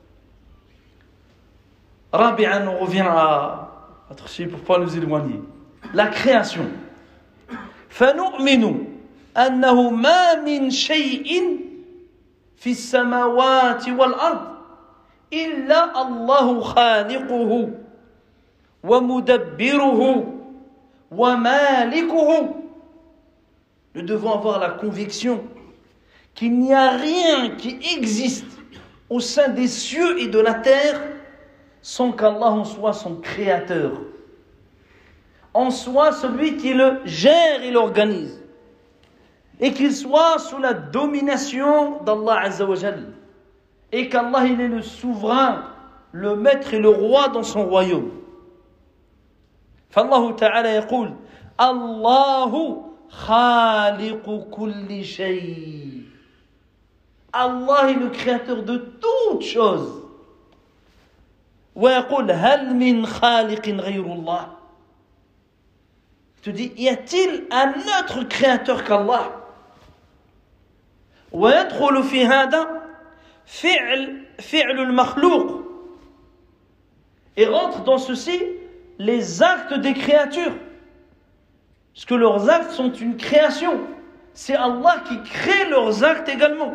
Speaker 2: Rabi'an, on revient à notre sujet pour ne pas nous éloigner. La création. فَنُؤْمِنُ أَنَّهُ مَا مِنْ شَيْءٍ فِي السَّمَاوَاتِ وَالْأَرْضِ إِلَّا اللَّهُ خَالِقُهُ وَمُدَبِّرُهُ وَمَالِكُهُ. Nous devons avoir la conviction qu'il n'y a rien qui existe au sein des cieux et de la terre sans qu'Allah en soit son créateur, en soit celui qui le gère et l'organise, et qu'il soit sous la domination d'Allah Azza wa Jal, et qu'Allah il est le souverain, le maître et le roi dans son royaume. فالله تعالى يقول الله خالق كل شيء. Allah est le créateur de toutes choses. ويقول هل من خالق غير الله. Tu dis, y a-t-il un autre créateur qu'Allah? ويدخل في هذا فعل المخلوق. Et rentre dans ceci les actes des créatures. Parce que leurs actes sont une création. C'est Allah qui crée leurs actes également.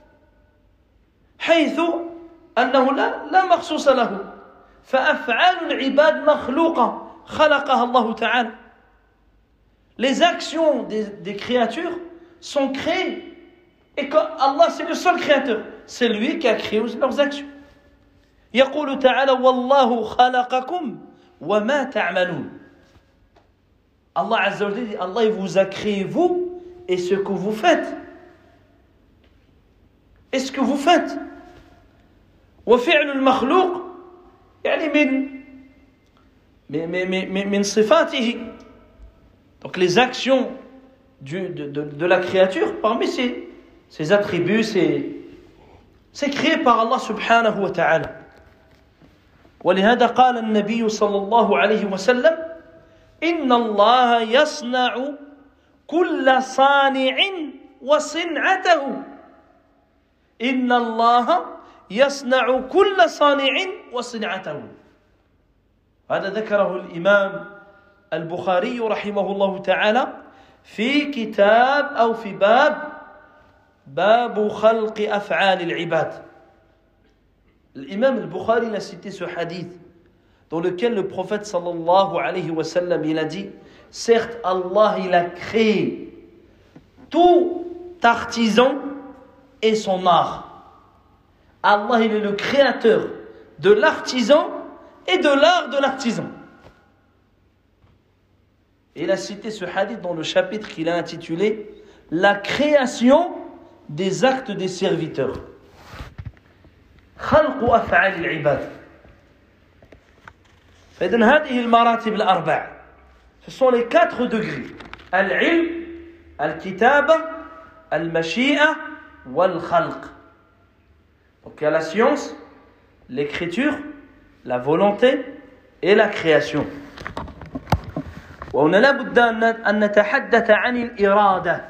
Speaker 2: حيث أنه لا مخصوص له فأفعال العباد مخلوقة خلقها الله تعالى. Les actions des créatures sont créées et que Allah c'est le seul créateur, c'est lui qui a créé leurs actions. يقول تعالى والله خلقكم وما تعملون. Allah Azza wa Jalla dit, Allah il vous a créé vous et ce que vous faites. Et ce que vous faites. وفعل المخلوق يعني من صفاته. Donc les actions de la créature, parmi ses attributs, c'est créé par Allah subhanahu wa ta'ala. ولهذا قال النبي صلى الله عليه وسلم إن الله يصنع كل صانع وصنعته. إن الله يصنع كل صانع وصنعته. هذا ذكره الإمام البخاري رحمه الله تعالى في كتاب أو في باب خلق أفعال العباد. l'imam al-Bukhari a cité ce hadith dans lequel le prophète sallallahu alayhi wa sallam, il a dit, certes Allah il a créé tout artisan et son art. Allah il est le créateur de l'artisan et de l'art de l'artisan. Et il a cité ce hadith dans le chapitre qu'il a intitulé La création des actes des serviteurs. خلق أفعال العباد. فإذن هذه المراتب الأربع. Ce sont les 4 degrés. العلم, الكتابة, المشيئة, والخلق. Donc il y a la science, l'écriture, la volonté et la création. وهنا لا بد أن نتحدث عن الإرادة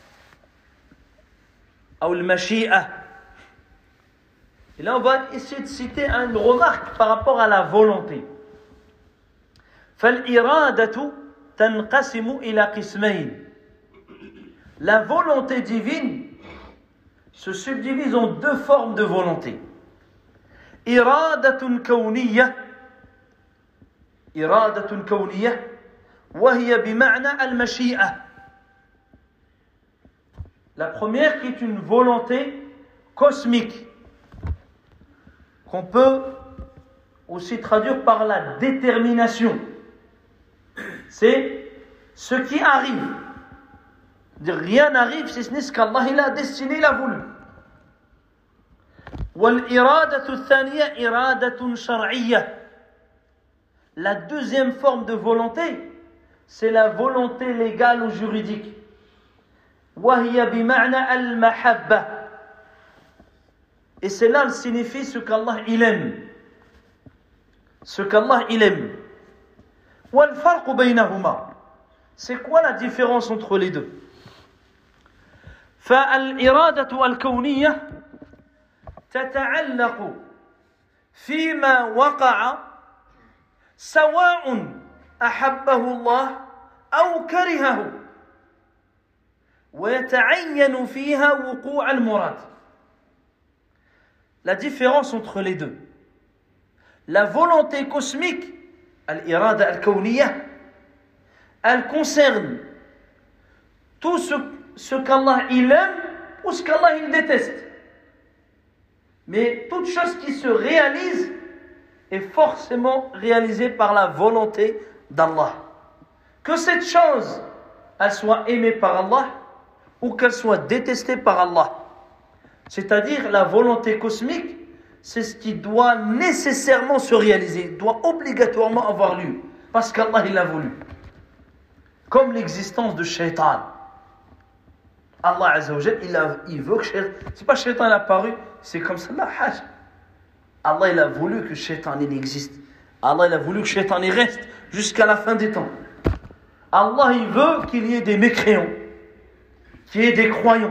Speaker 2: أو المشيئة. Et là on va essayer de citer une remarque par rapport à la volonté. فالإرادة تنقسم إلى قسمين. La volonté divine se subdivise en 2 formes de volonté. إرادة كونية وهي بمعنى المشيئة. La première qui est une volonté cosmique qu'on peut aussi traduire par la détermination. C'est ce qui arrive. Rien n'arrive si ce n'est ce qu'Allah il a destiné, il a voulu. والإرادة الثانية إرادة شرعية. La deuxième forme de volonté, c'est la volonté légale ou juridique. وهي بمعنى المحبة. Et cela signifie ce qu'Allah il aime. Ce qu'Allah il aime. والفرق بينهما. C'est quoi la différence entre les deux? فالإرادة الكونية تتعلق فيما وقع سواء أحبه الله أو كرهه ويتعين فيها وقوع المراد. La différence entre les deux. La volonté cosmique, al-irada al-kawniyya, elle concerne tout ce qu'Allah il aime ou ce qu'Allah il déteste. Mais toute chose qui se réalise est forcément réalisée par la volonté d'Allah. Que cette chose, elle soit aimée par Allah ou qu'elle soit détestée par Allah. C'est-à-dire la volonté cosmique, c'est ce qui doit nécessairement se réaliser, doit obligatoirement avoir lieu, parce qu'Allah il l'a voulu. Comme l'existence de Shaitan. Allah Azza wa Jal, il veut que Shaitan, c'est pas Shaitan il a apparu, c'est comme ça, là, hajj. Allah il a voulu que Shaitan il existe. Allah il a voulu que Shaitan il reste jusqu'à la fin des temps. Allah il veut qu'il y ait des mécréants, qu'il y ait des croyants.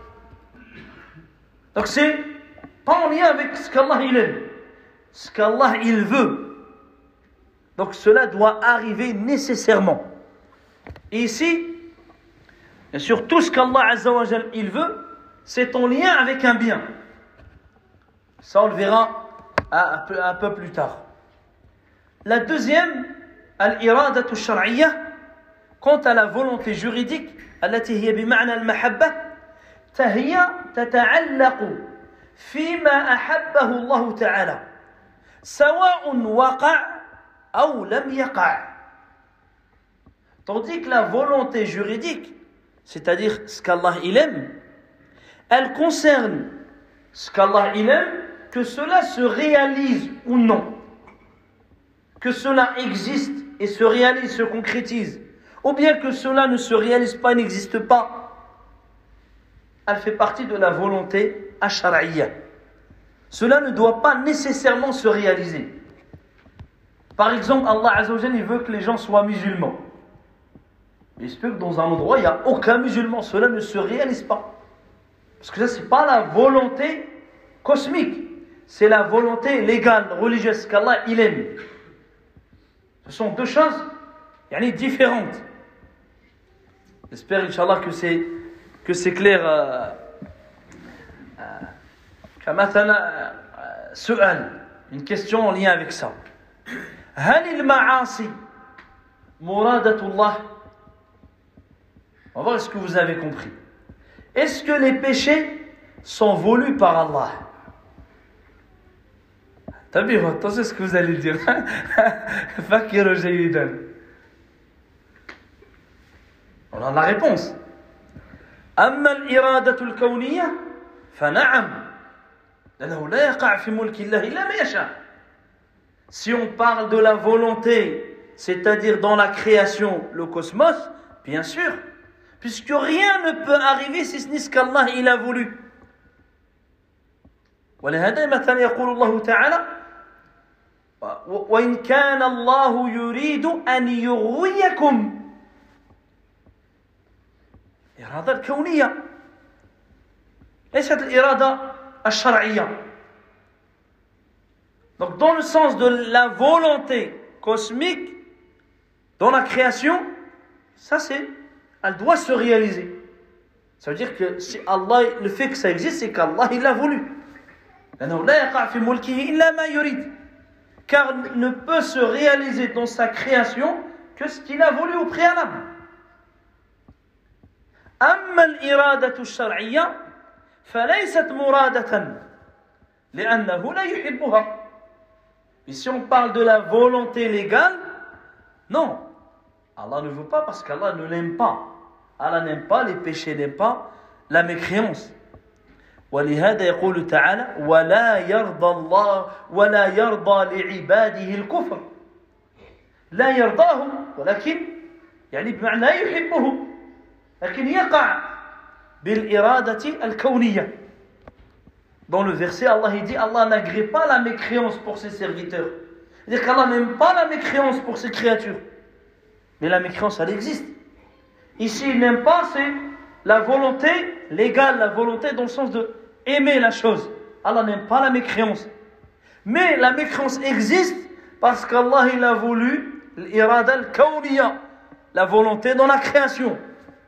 Speaker 2: Donc c'est pas en lien avec ce qu'Allah il aime, ce qu'Allah il veut. Donc cela doit arriver nécessairement. Et ici, bien sûr, tout ce qu'Allah Azza wa Jal il veut, c'est en lien avec un bien. Ça on le verra un peu plus tard. La deuxième, al-iradatu shar'iyya, quant à la volonté juridique, التي هي بمعنى المحبة, فهي تتعلق فيما أحبه الله تعالى سواء وقع أو لم يقع. Tandis que la volonté juridique, c'est-à-dire ce qu'Allah il aime, elle concerne ce qu'Allah il aime, que cela se réalise ou non, que cela existe et se réalise, se concrétise, ou bien que cela ne se réalise pas, n'existe pas. Elle fait partie de la volonté ash-shar'iyya. Cela ne doit pas nécessairement se réaliser. Par exemple, Allah Azza wa Jalla, il veut que les gens soient musulmans. Il se peut que dans un endroit, il n'y a aucun musulman. Cela ne se réalise pas. Parce que ça, ce n'est pas la volonté cosmique. C'est la volonté légale, religieuse, qu'Allah, il aime. Ce sont deux choses différentes. J'espère, Inch'Allah, que c'est clair. كمثلا سؤال, une question en lien avec ça. هل المعاصي مرادة الله? On va voir ce que vous avez compris. Est-ce que les péchés sont voulus par Allah? Tabi'ou, attention à ce que vous allez dire. Fakiru jayidan. On a la réponse. أما الإرادة الكونية فنعم لأنه لا يقع في ملك الله إلا ما يشاء. Si on parle de la volonté, c'est-à-dire dans la création, le cosmos, bien sûr, puisque rien ne peut arriver si ce n'est ce qu'Allah il a voulu. ولهذا مثلا يقول الله تعالى وإن كان الله يريد أن يغويكم. الإرادة الكونية ليست الإرادة الشرعية. Donc dans le sens de la volonté cosmique dans la création, ça c'est, elle doit se réaliser. Ça veut dire que si Allah, le fait que ça existe, c'est qu'Allah il l'a voulu. Car il ne peut se réaliser dans sa création que ce qu'il a voulu au préalable. أما الإرادة الشرعية فليست مرادة لأنه لا يحبها. Et si on parle de la volonté légale, non, Allah ne veut pas parce qu'Allah ne l'aime pas. Allah n'aime pas les péchés, n'aime pas la mécréance. ولهذا يقول تعالى ولا يرضى الله ولا يرضى لعباده الكفر. لا يرضاه ولكن يعني بمعنى لا يحبه لكن يقع بالإرادة الكونية. Dans le verset, Allah il dit Allah n'agrée pas la mécréance pour ses serviteurs. C'est-à-dire qu'Allah n'aime pas la mécréance pour ses créatures. Mais la mécréance, elle existe. Ici, il n'aime pas, c'est la volonté légale, la volonté dans le sens de aimer la chose. Allah n'aime pas la mécréance. Mais la mécréance existe parce qu'Allah il a voulu l'irada al-kawniya, la volonté dans la création.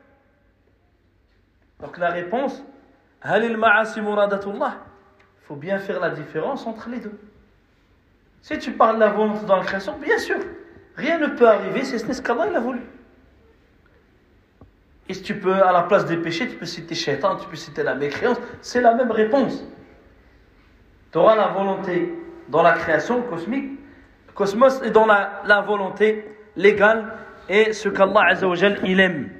Speaker 2: Donc la réponse, هل المعاصي مرادة الله? Il faut bien faire la différence entre les deux. Si tu parles de la volonté dans la création, bien sûr, rien ne peut arriver si ce n'est ce qu'Allah il a voulu. Et si tu peux, à la place des péchés, tu peux citer Shaitan, tu peux citer la mécréance, c'est la même réponse. Tu auras la volonté dans la création cosmique, cosmos, et dans la volonté légale, et ce qu'Allah Azza wa Jal il aime.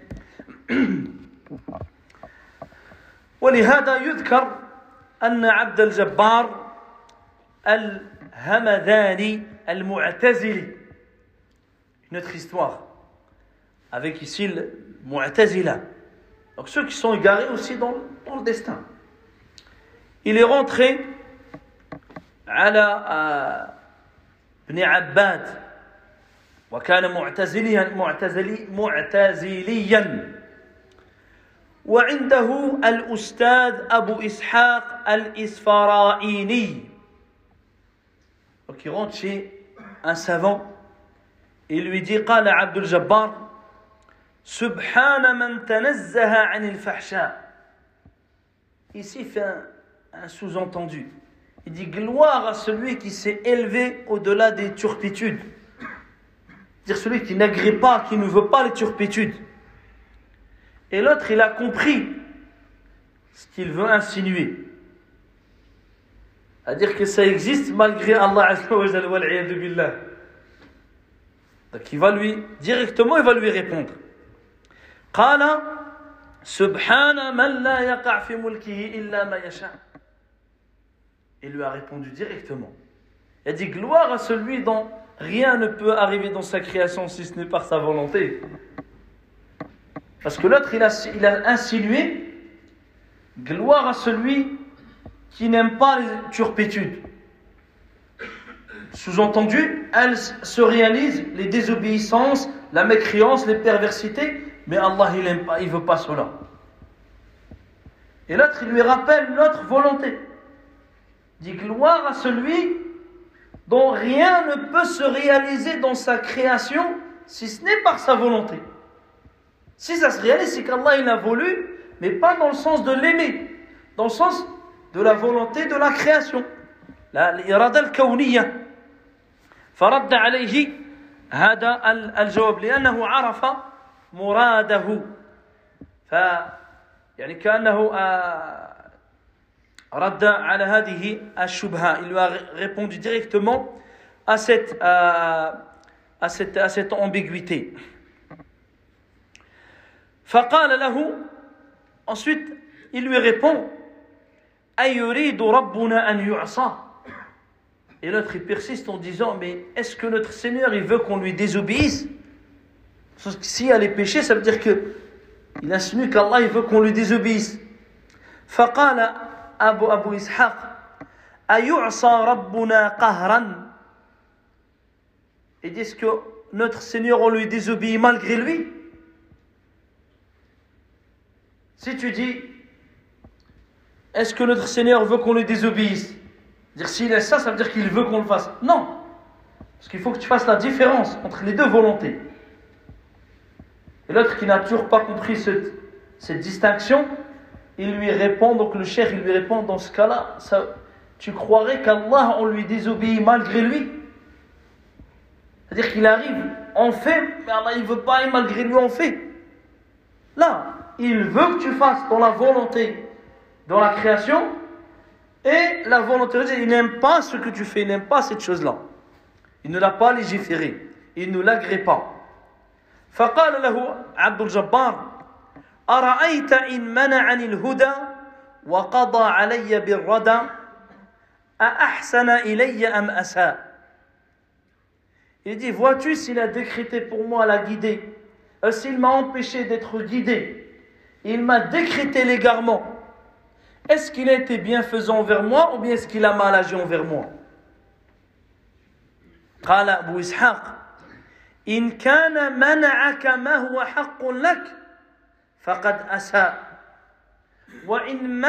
Speaker 2: ولهذا يذكر أن عبد الجبار الهمذاني المعتزلي. Une autre histoire avec ici le Mu'tazila. Donc ceux qui sont égarés aussi dans le destin. Il est rentré على ابن عباد وكان معتزليا وعنده الأستاذ أبو إسحاق الإسفرايني. Donc il rentre chez un savant et lui dit قال عبد الجبار سبحان من تنزه عن الفحشاء. Ici il fait un sous-entendu. Il dit gloire à celui qui s'est élevé au-delà des turpitudes. C'est-à-dire celui qui n'agrée pas, qui ne veut pas les turpitudes. Et l'autre, il a compris ce qu'il veut insinuer. C'est-à-dire que ça existe malgré Allah Azza wa Jalla wal iyadu billah. Donc il va lui répondre. قال سبحان من لا يقع في ملكه إلا ما يشاء. Il lui a répondu directement. Il a dit gloire à celui dont rien ne peut arriver dans sa création si ce n'est par sa volonté. Parce que l'autre, il a insinué gloire à celui qui n'aime pas les turpitudes. Sous-entendu, elles se réalisent les désobéissances, la mécréance, les perversités, mais Allah, il n'aime pas, il ne veut pas cela. Et l'autre, il lui rappelle l'autre volonté. Il dit gloire à celui dont rien ne peut se réaliser dans sa création si ce n'est par sa volonté. Si ça se réalise, c'est qu'Allah il a voulu, mais pas dans le sens de l'aimer, dans le sens de la volonté de la création. الإرادة الكونية. فرد عليه هذا الجواب لأنه عرف مراده. يعني كأنه رد على هذه الشبهة. Il lui a répondu directement à cette ambiguïté. فقال له, ensuite il lui répond, أيريد ربنا أن يعصى. Et l'autre il persiste en disant, mais est-ce que notre Seigneur il veut qu'on lui désobéisse? Parce que s'il y a les péchés, ça veut dire que il insinue qu'Allah il veut qu'on lui désobéisse. فقال أبو إسحاق أيعصى ربنا قهرا. Et dit-ce que notre Seigneur on lui désobéit malgré lui? Si tu dis, est-ce que notre Seigneur veut qu'on lui désobéisse? Dire s'il est ça, ça veut dire qu'il veut qu'on le fasse. Non, parce qu'il faut que tu fasses la différence entre les deux volontés. Et l'autre qui n'a toujours pas compris cette distinction, il lui répond, donc le cheikh il lui répond, dans ce cas-là, tu croirais qu'Allah on lui désobéit malgré lui? C'est-à-dire qu'il arrive, on fait, mais Allah il veut pas et malgré lui on fait. Là, il veut que tu fasses dans la volonté, dans la création, et la volonté, il n'aime pas ce que tu fais, il n'aime pas cette chose-là. Il ne l'a pas légiféré, il ne l'agrée pas. فقال له عبد الجبار أرأيت إن منعني الهدى وقضى علي بالردى أأحسن إلي أم أساء. Il dit, vois-tu s'il a décrété pour moi la guidée, s'il m'a empêché d'être guidé, il m'a décrété l'égarement, est-ce qu'il a été bienfaisant envers moi ou bien est-ce qu'il a mal agi envers moi? قال أبو إسحاق إن كان منعك ما هو حق لك فقد أساء وإن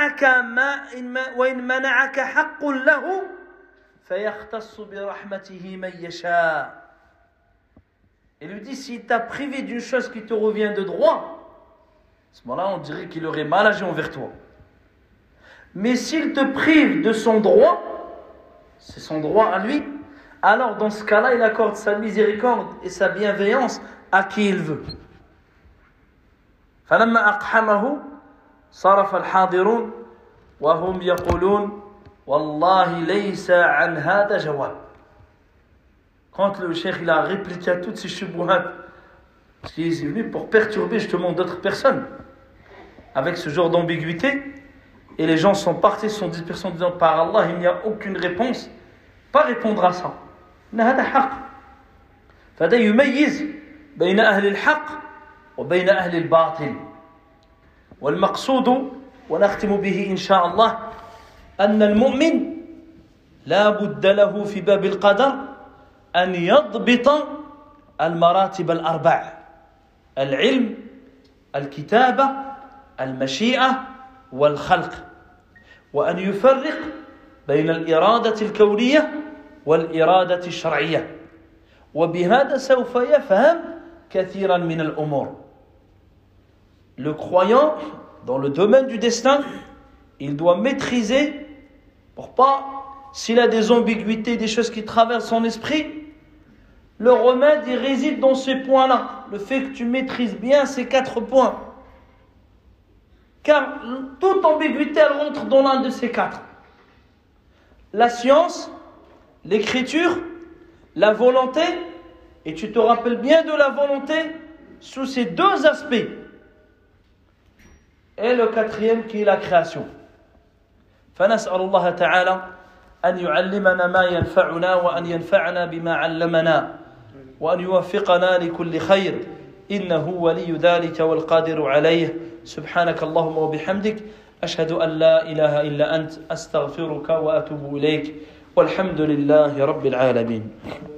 Speaker 2: منعك حق له فيختص برحمته من يشاء. Il lui dit, s'il t'a privé d'une chose qui te revient de droit, à ce moment-là on dirait qu'il aurait mal agi envers toi. Mais s'il te prive de son droit, c'est son droit à lui, alors dans ce cas-là il accorde sa miséricorde et sa bienveillance à qui il veut. فلما أقحمه صرف الحاضرون وهم يقولون والله ليس عن هذا جواب. Quand le cheikh il a répliqué à toutes ces shubuhat, parce qu'il est venu pour perturber justement d'autres personnes avec ce genre d'ambiguïté, et les gens sont partis, sont dispersés en disant par Allah il n'y a aucune réponse, pas répondre à ça. هذا حق. فهذا يميز بين أهل الحق وبين أهل الباطل. والمقصود ونختم به إن شاء الله أن المؤمن لا بد له في باب القدر أن يضبط المراتب الأربع: العلم، الكتابة، المشيئة، والخلق، وأن يفرق بين الإرادة الكونية والإرادة الشرعية. وبهذا سوف يفهم كثيرا من الأمور. Le croyant, dans le domaine du destin, il doit maîtriser, pour pas, s'il a des ambiguïtés, des choses qui traversent son esprit, le remède, il réside dans ces points-là. Le fait que tu maîtrises bien ces 4 points. Car toute ambiguïté, elle rentre dans l'un de ces 4. La science, l'écriture, la volonté, et tu te rappelles bien de la volonté sous ces 2 aspects. Et le 4e qui est la création. فنسأل الله تعالى أن يعلمنا ما ينفعنا وأن ينفعنا بما علمنا وأن يوفقنا لكل خير إنه ولي ذلك والقادر عليه. سبحانك اللهم وبحمدك أشهد أن لا إله إلا أنت أستغفرك وأتوب إليك والحمد لله رب العالمين.